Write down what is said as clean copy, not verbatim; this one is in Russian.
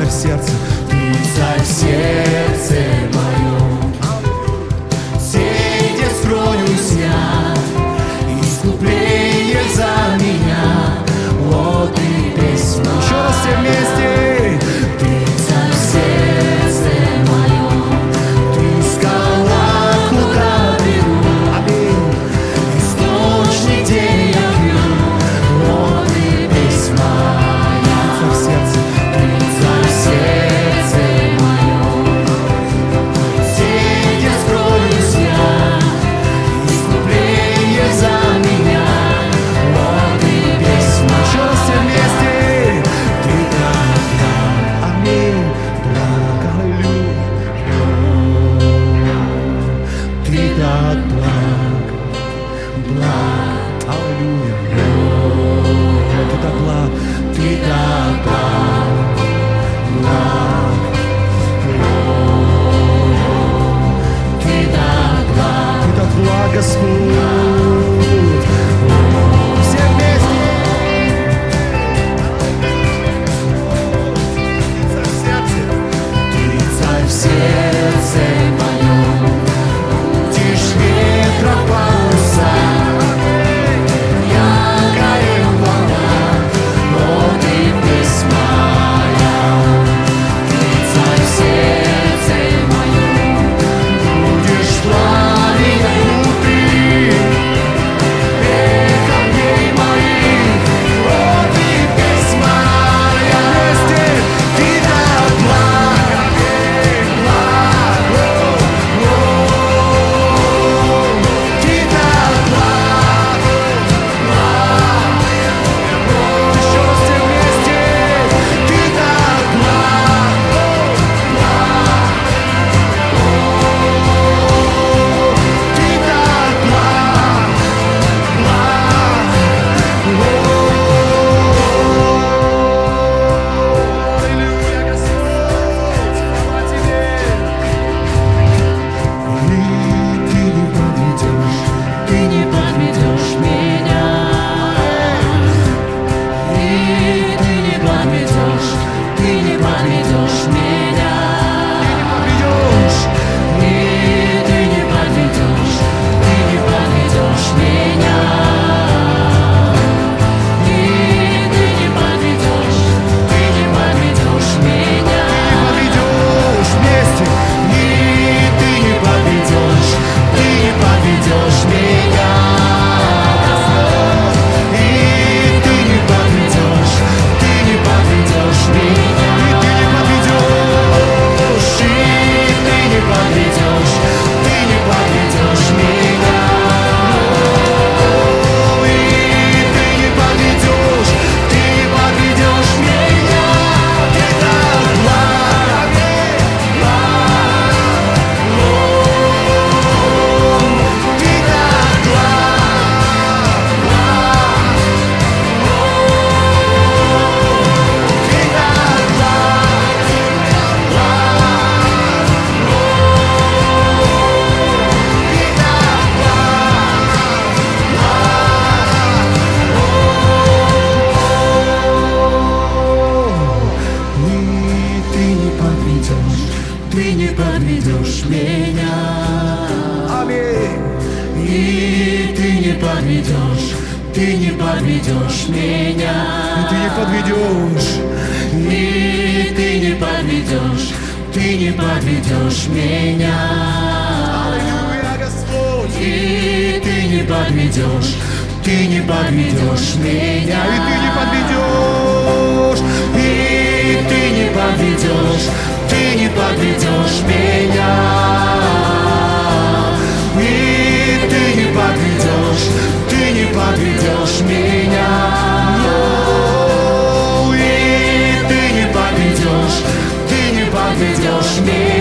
в сердце. Ты царь в сердце моем, где скроюсь я, искупление за меня, вот и письма. Еще раз все вместе. Ты царь в сердце моем, ты скала, куда беру, Аминь. источник, где я пью, вот и письма. В сердце. Ты царь в сердце моем, где скроюсь я, искупление за меня, вот и письма. Еще раз все вместе. Ты так благ. Аминь. Благ. Аллилуйя. Ты так благ. Благ. Аллилуйя. Ты так благ. Ты так благ, благ, ты так благ. Ты так благ, Господь. Все вместе. В сердце. Ты царь в сердце моем, будешь ветра паруса, я горел в волнах, вот и письма я. Ты царь в сердце моем, будешь пламенем внутри, камней моих, вот и письма я. Вместе. Ты так благ, ты так благ, Еще раз все вместе. ты так благ, ты так благ, Аллилуйя, Господь. Слава Тебе. и ты не подведешь меня, и ты не подведешь меня, Ведешь. и ты не подведешь меня, и ты не подведешь меня. Ведешь вместе. И ты не подведешь меня. И ты не подведешь меня. И ты не подведешь. И ты не подведешь меня. И ты не подведешь меня. Ты так благ, ты так И ты не подведешь меня. Аминь. И ты не подведешь меня. И ты не подведешь. И ты не подведешь меня. Аллилуйя, Господь. И ты не подведешь меня. И ты не подведешь. И ты не подведешь меня. И ты не подведешь меня. И ты не подведешь меня.